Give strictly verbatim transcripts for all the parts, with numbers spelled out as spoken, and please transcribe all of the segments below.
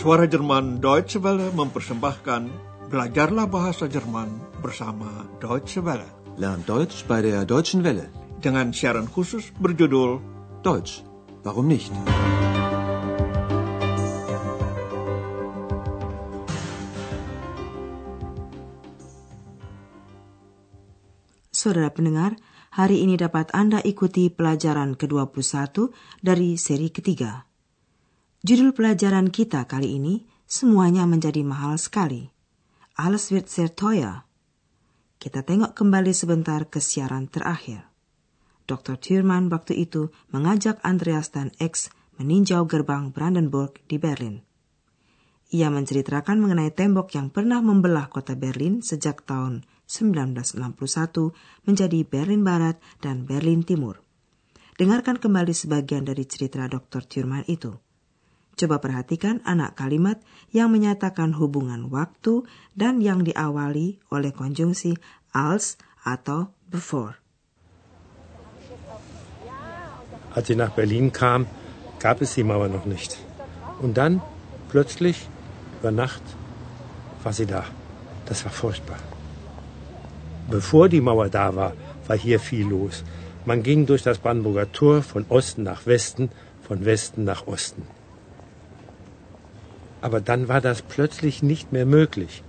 Suara Jerman Deutsche Welle mempersembahkan Belajarlah Bahasa Jerman bersama Deutsche Welle. Lern Deutsch bei der Deutschen Welle. Dengan siaran khusus berjudul Deutsch, warum nicht? Saudara pendengar, hari ini dapat Anda ikuti pelajaran ke dua puluh satu dari seri ketiga. Judul pelajaran kita kali ini, semuanya menjadi mahal sekali. Alles wird sehr teuer. Kita tengok kembali sebentar ke siaran terakhir. doktor Thürmann waktu itu mengajak Andreas dan X meninjau gerbang Brandenburg di Berlin. Ia menceritakan mengenai tembok yang pernah membelah kota Berlin sejak tahun sembilan belas enam puluh satu menjadi Berlin Barat dan Berlin Timur. Dengarkan kembali sebagian dari cerita doktor Thürmann itu. Coba perhatikan anak kalimat yang menyatakan hubungan waktu dan yang diawali oleh konjungsi als atau before. Als sie nach Berlin kam, gab es die Mauer noch nicht. Und dann, plötzlich, über Nacht, war sie da. Das war furchtbar. Bevor die Mauer da war, war hier viel los. Man ging durch das Brandenburger Tor von Osten nach Westen, von Westen nach Osten. Aber dann war das plötzlich nicht mehr möglich.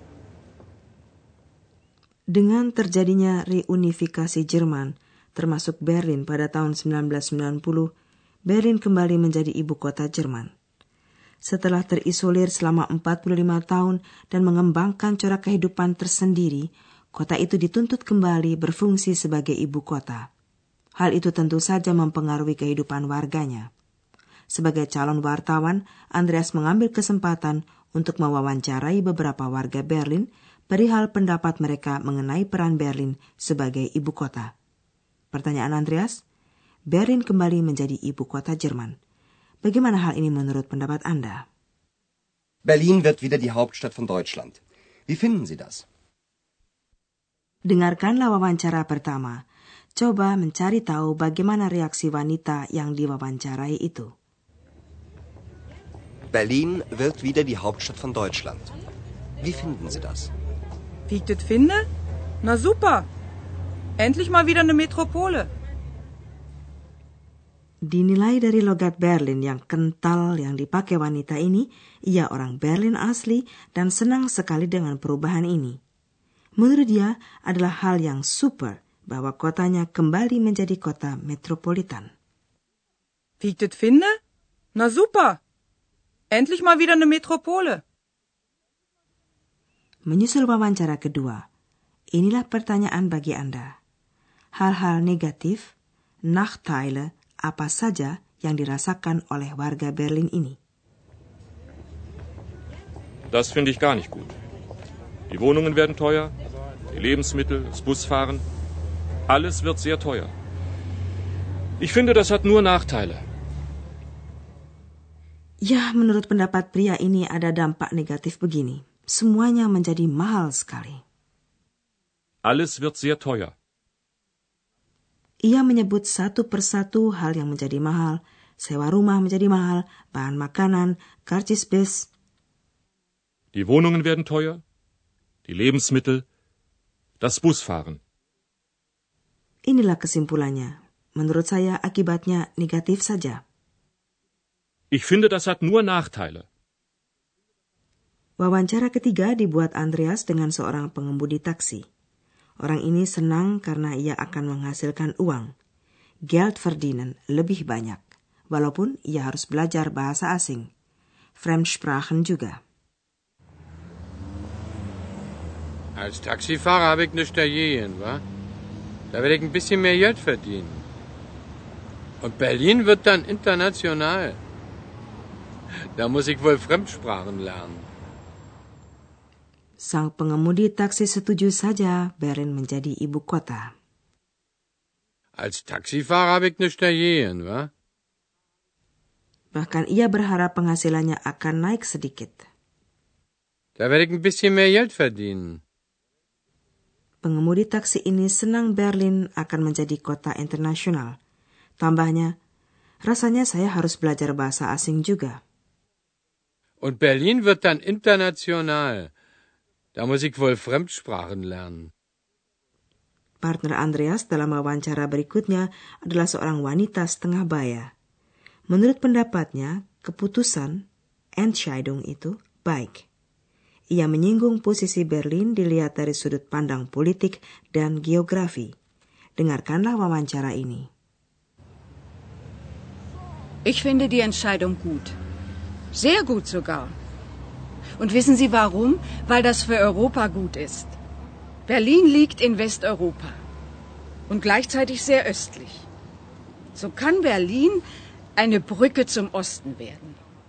Dengan terjadinya reunifikasi Jerman, termasuk Berlin pada tahun sembilan belas sembilan puluh, Berlin kembali menjadi ibu kota Jerman. Setelah terisolir selama empat puluh lima tahun dan mengembangkan corak kehidupan tersendiri, kota itu dituntut kembali berfungsi sebagai ibu kota. Hal itu tentu saja mempengaruhi kehidupan warganya. Sebagai calon wartawan, Andreas mengambil kesempatan untuk mewawancarai beberapa warga Berlin perihal pendapat mereka mengenai peran Berlin sebagai ibu kota. Pertanyaan Andreas, Berlin kembali menjadi ibu kota Jerman. Bagaimana hal ini menurut pendapat Anda? Berlin wird wieder die Hauptstadt von Deutschland. Wie finden Sie das? Dengarkanlah wawancara pertama. Coba mencari tahu bagaimana reaksi wanita yang diwawancarai itu. Berlin wird wieder die Hauptstadt von Deutschland. Wie finden Sie das? Wie ich das finde? Na super. Endlich mal wieder eine Metropole. Dinilai dari logat Berlin yang kental yang dipakai wanita ini, ia orang Berlin asli dan senang sekali dengan perubahan ini. Menurut dia adalah hal yang super bahwa kotanya kembali menjadi kota metropolitan. Wie ich das finde? Na super. Endlich mal wieder eine Metropole. Menyusul wawancara kedua, inilah pertanyaan bagi Anda. Hal-hal negatif, Nachteile, apa saja yang dirasakan oleh warga Berlin ini? Das finde ich gar nicht gut. Die Wohnungen werden teuer, die Lebensmittel, das Busfahren, alles wird sehr teuer. Ich finde, das hat nur Nachteile. Ya, menurut pendapat pria ini ada dampak negatif begini. Semuanya menjadi mahal sekali. Alles wird sehr teuer. Ia menyebut satu persatu hal yang menjadi mahal. Sewa rumah menjadi mahal, bahan makanan, karcis bis. Die Wohnungen werden teuer, die Lebensmittel, das Busfahren. Inilah kesimpulannya. Menurut saya akibatnya negatif saja. Ich finde, das hat nur Nachteile. Wawancara ketiga dibuat Andreas dengan seorang pengemudi taksi. Orang ini senang karena ia akan menghasilkan uang. Geld verdienen, lebih banyak. Walaupun ia harus belajar bahasa asing. Fremdsprachen juga. Als Taxifahrer habe ich nichts dagegen, wa? Da werde ich ein bisschen mehr Geld verdienen. Und Berlin wird dann international. Da muss ich wohl Fremdsprachen lernen. Sang pengemudi taksi setuju saja Berlin menjadi ibu kota. Als Taxifahrer habe ich nichts dagegen, wa? Bahkan ia berharap penghasilannya akan naik sedikit. Da werde ich ein bisschen mehr Geld verdienen. Pengemudi taksi ini senang Berlin akan menjadi kota internasional. Tambahnya, rasanya saya harus belajar bahasa asing juga. Und Berlin wird dann international. Da muss ich wohl Fremdsprachen lernen. Partner Andreas dalam wawancara berikutnya adalah seorang wanita setengah baya. Menurut pendapatnya, keputusan Entscheidung itu baik. Ia menyinggung posisi Berlin dilihat dari sudut pandang politik dan geografi. Dengarkanlah wawancara ini. Ich finde die Entscheidung gut. Sehr gut sogar. Und wissen Sie warum? Weil das für Europa gut ist. Berlin liegt in Westeuropa und gleichzeitig sehr östlich. So kann Berlin eine Brücke zum Osten werden.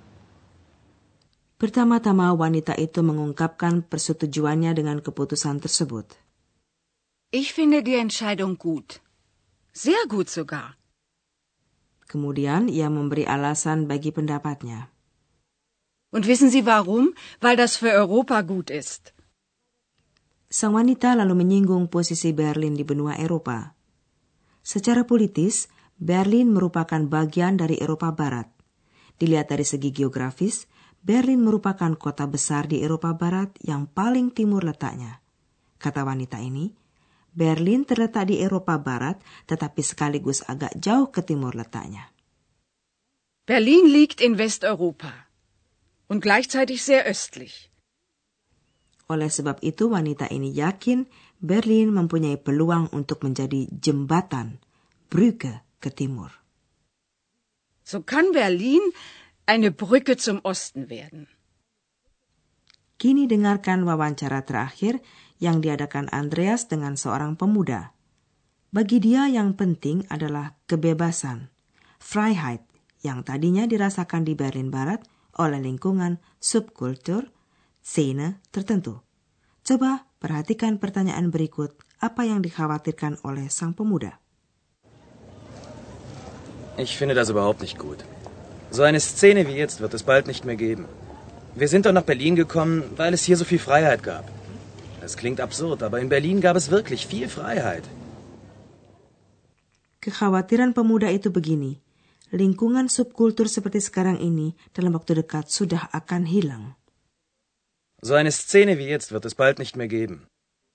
Pertama-tama wanita itu mengungkapkan persetujuannya dengan keputusan tersebut. Ich finde die Entscheidung gut. Sehr gut sogar. Kemudian ia memberi alasan bagi pendapatnya. Und wissen Sie warum? Weil das für Europa gut ist. Sang wanita lalu menyinggung posisi Berlin di benua Eropa. Secara politis, Berlin merupakan bagian dari Eropa Barat. Dilihat dari segi geografis, Berlin merupakan kota besar di Eropa Barat yang paling timur letaknya. Kata wanita ini, Berlin terletak di Eropa Barat tetapi sekaligus agak jauh ke timur letaknya. Berlin liegt in Westeuropa und gleichzeitig sehr östlich. Oleh sebab itu wanita ini yakin Berlin mempunyai peluang untuk menjadi jembatan, Brücke ke timur. So kann Berlin eine Brücke zum Osten werden. Kini dengarkan wawancara terakhir yang diadakan Andreas dengan seorang pemuda. Bagi dia yang penting adalah kebebasan, Freiheit, yang tadinya dirasakan di Berlin Barat oleh lingkungan subkultur, Szene tertentu. Coba perhatikan pertanyaan berikut, apa yang dikhawatirkan oleh sang pemuda. Ich finde das überhaupt nicht gut. So eine Szene wie jetzt wird es bald nicht mehr geben. Wir sind doch nach Berlin gekommen, weil es hier so viel Freiheit gab. Das klingt absurd, aber in Berlin gab es wirklich viel Freiheit. Kekhawatiran pemuda itu begini, lingkungan subkultur seperti sekarang ini dalam waktu dekat sudah akan hilang. So eine Szene wie jetzt wird es bald nicht mehr geben.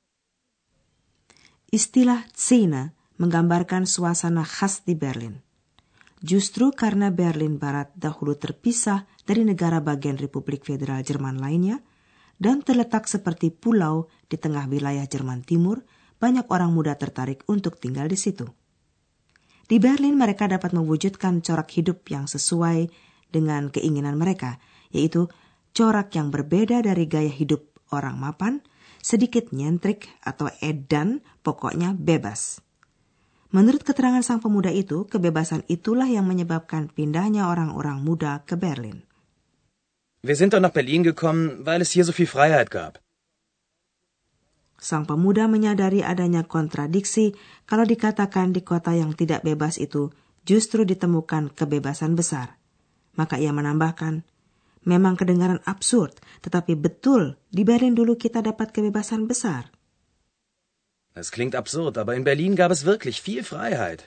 Istilah Szene menggambarkan suasana khas di Berlin. Justru karena Berlin Barat dahulu terpisah dari negara bagian Republik Federal Jerman lainnya dan terletak seperti pulau di tengah wilayah Jerman Timur, banyak orang muda tertarik untuk tinggal di situ. Di Berlin mereka dapat mewujudkan corak hidup yang sesuai dengan keinginan mereka, yaitu corak yang berbeda dari gaya hidup orang mapan, sedikit nyentrik atau edan, pokoknya bebas. Menurut keterangan sang pemuda itu, kebebasan itulah yang menyebabkan pindahnya orang-orang muda ke Berlin. Wir sind doch nach Berlin gekommen, weil es hier so viel Freiheit gab. Sang pemuda menyadari adanya kontradiksi kalau dikatakan di kota yang tidak bebas itu justru ditemukan kebebasan besar. Maka ia menambahkan, memang kedengaran absurd, tetapi betul di Berlin dulu kita dapat kebebasan besar. Das klingt absurd, aber in Berlin gab es wirklich viel Freiheit.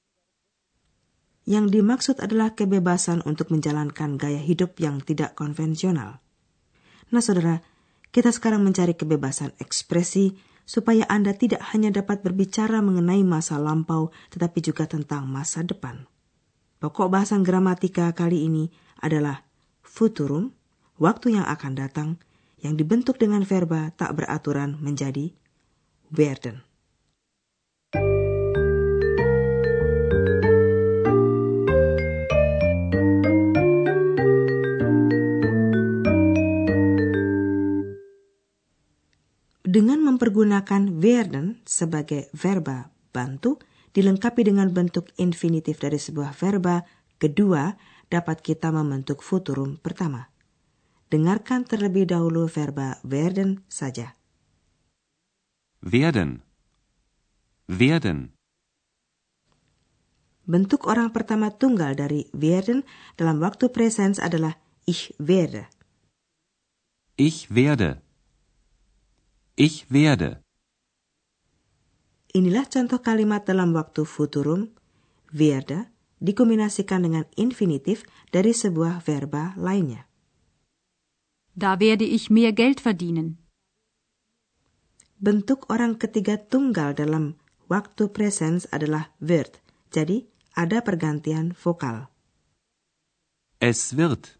Yang dimaksud adalah kebebasan untuk menjalankan gaya hidup yang tidak konvensional. Nah saudara, kita sekarang mencari kebebasan ekspresi supaya Anda tidak hanya dapat berbicara mengenai masa lampau, tetapi juga tentang masa depan. Pokok bahasan gramatika kali ini adalah futurum, waktu yang akan datang, yang dibentuk dengan verba tak beraturan menjadi werden. Dengan mempergunakan werden sebagai verba bantu, dilengkapi dengan bentuk infinitif dari sebuah verba kedua, dapat kita membentuk futurum pertama. Dengarkan terlebih dahulu verba werden saja. Werden. Werden. Bentuk orang pertama tunggal dari werden dalam waktu presens adalah ich werde. Ich werde. Ich werde. Inilah contoh kalimat dalam waktu futurum, werde, dikombinasikan dengan infinitif dari sebuah verba lainnya. Da werde ich mehr Geld verdienen. Bentuk orang ketiga tunggal dalam waktu presens adalah wird. Jadi, ada pergantian vokal. Es wird.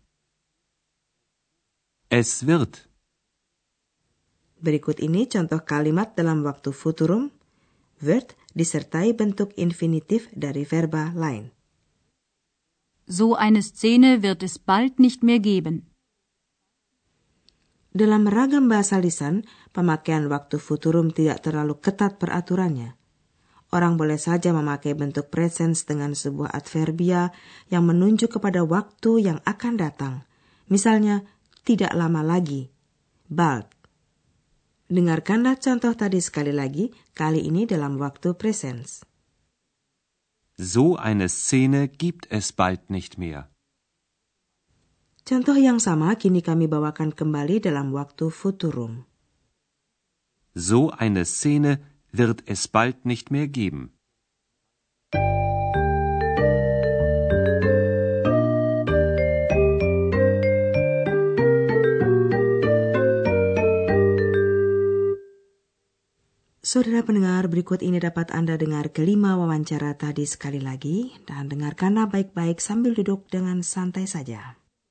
Es wird. Berikut ini contoh kalimat dalam waktu futurum. Wird disertai bentuk infinitif dari verba lain. So eine Szene wird es bald nicht mehr geben. Dalam ragam bahasa lisan, pemakaian waktu futurum tidak terlalu ketat peraturannya. Orang boleh saja memakai bentuk presens dengan sebuah adverbia yang menunjuk kepada waktu yang akan datang. Misalnya, tidak lama lagi, bald. Dengarkanlah contoh tadi sekali lagi, kali ini dalam waktu presens. So eine Szene gibt es bald nicht mehr. Contoh yang sama kini kami bawakan kembali dalam waktu futurum. So eine Szene wird es bald nicht mehr geben. Saudara pendengar, berikut ini dapat Anda dengar kelima wawancara tadi sekali lagi dan dengarkanlah baik-baik sambil duduk dengan santai saja.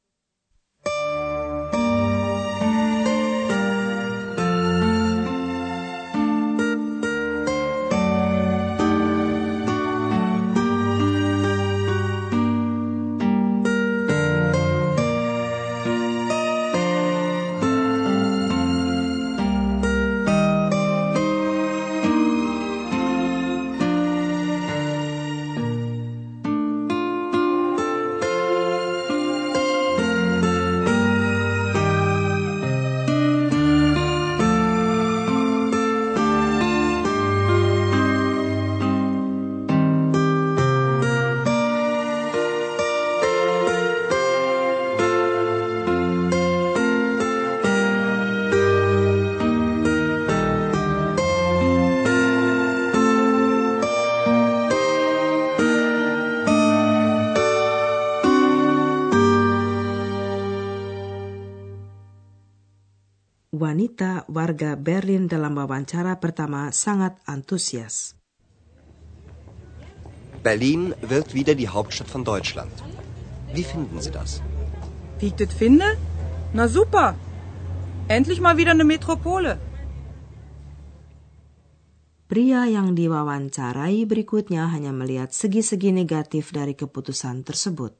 Wanita warga Berlin dalam wawancara pertama sangat antusias. Berlin wird wieder die Hauptstadt von Deutschland. Wie finden Sie das? Wie ich das finde? Na super. Endlich mal wieder eine Metropole. Pria yang diwawancarai berikutnya hanya melihat segi-segi negatif dari keputusan tersebut.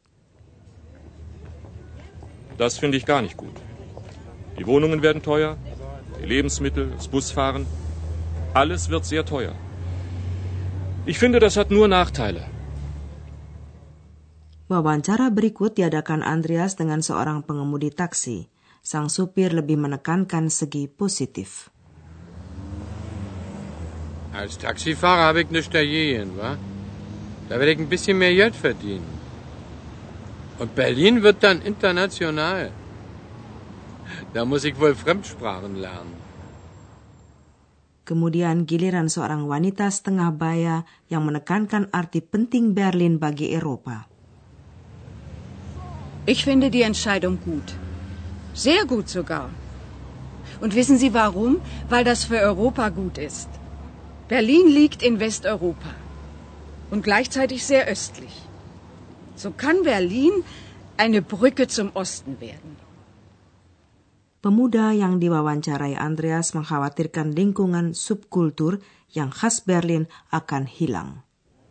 Das finde ich gar nicht gut. Die Wohnungen werden teuer, die Lebensmittel, das Busfahren, alles wird sehr teuer. Ich finde, das hat nur Nachteile. Wawancara berikut diadakan Andreas dengan seorang pengemudi taksi. Sang supir lebih menekankan segi positif. Als Taxifahrer habe ich nichts dagegen, wa? Da werde ich ein bisschen mehr Geld verdienen. Und Berlin wird dann international. Da muss ich wohl Fremdsprachen lernen. Kemudian giliran seorang wanita setengah baya yang menekankan arti penting Berlin bagi Eropa. Ich finde die Entscheidung gut. Sehr gut sogar. Und wissen Sie warum? Weil das für Europa gut ist. Berlin liegt in Westeuropa und gleichzeitig sehr östlich. So kann Berlin eine Brücke zum Osten werden. Pemuda yang diwawancarai Andreas mengkhawatirkan lingkungan subkultur yang khas Berlin akan hilang.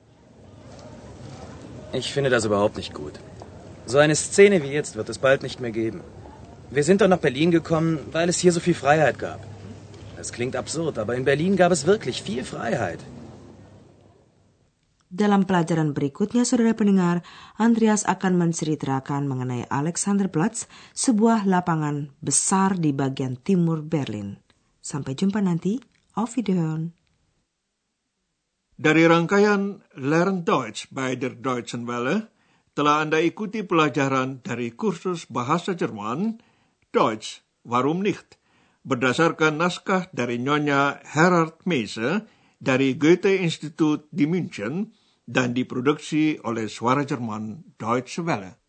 Ich finde das überhaupt nicht gut. So eine Szene wie jetzt wird es bald nicht mehr geben. Wir sind doch nach Berlin gekommen, weil es hier so viel Freiheit gab. Das klingt absurd, aber in Berlin gab es wirklich viel Freiheit. Dalam pelajaran berikutnya, saudara pendengar, Andreas akan menceritakan mengenai Alexanderplatz, sebuah lapangan besar di bagian timur Berlin. Sampai jumpa nanti. Auf Wiederhören. Dari rangkaian Lern Deutsch bei der Deutschen Welle, telah Anda ikuti pelajaran dari kursus bahasa Jerman, Deutsch, warum nicht? Berdasarkan naskah dari Nyonya Gerhard Meise dari Goethe-Institut di München dan diproduksi oleh Suara Jerman Deutsche Welle.